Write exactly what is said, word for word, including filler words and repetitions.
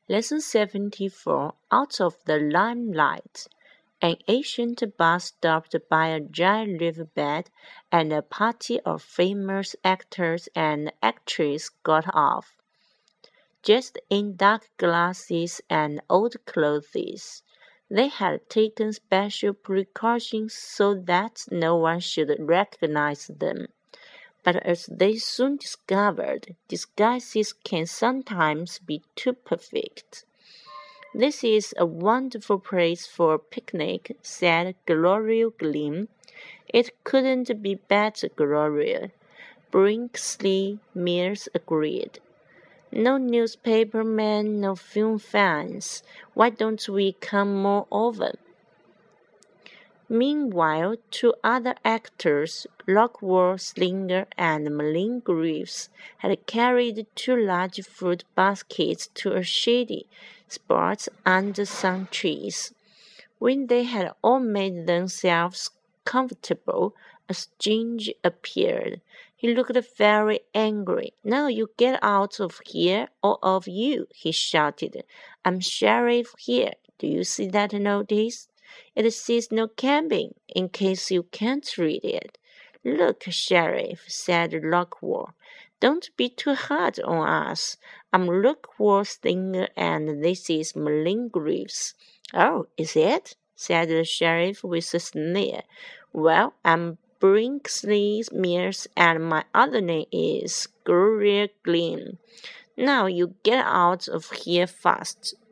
Lesson seventy-four Out of the Limelight. An ancient bus stopped by a giant riverbed, and a party of famous actors and actresses got off, dressed in dark glasses and old clothes. They had taken special precautions so that no one should recognize them. But as they soon discovered, disguises can sometimes be too perfect. "This is a wonderful place for a picnic," said Gloria Glynn. "It couldn't be better, Gloria," Brinsley Mears agreed. "No newspaper men, no film fans. Why don't we come more often?" Meanwhile, two other actors, Rockwell Slinger and Merlin Greaves, had carried two large fruit baskets to a shady spot under some trees. When they had all made themselves comfortable, a stranger appeared. He looked very angry. "Now you get out of here, all of you," he shouted. "I'm sheriff here. Do you see that notice? It says no camping, in case you can't read it." "Look, Sheriff," said Rockwell, "don't be too hard on us. I'm Rockwell Slinger, and this is Merlin Greaves." "Oh, is it?" said the sheriff with a sneer. "Well, I'm Brinsley Mears, and my other name is Gloria Glynn. Now you get out of here fast."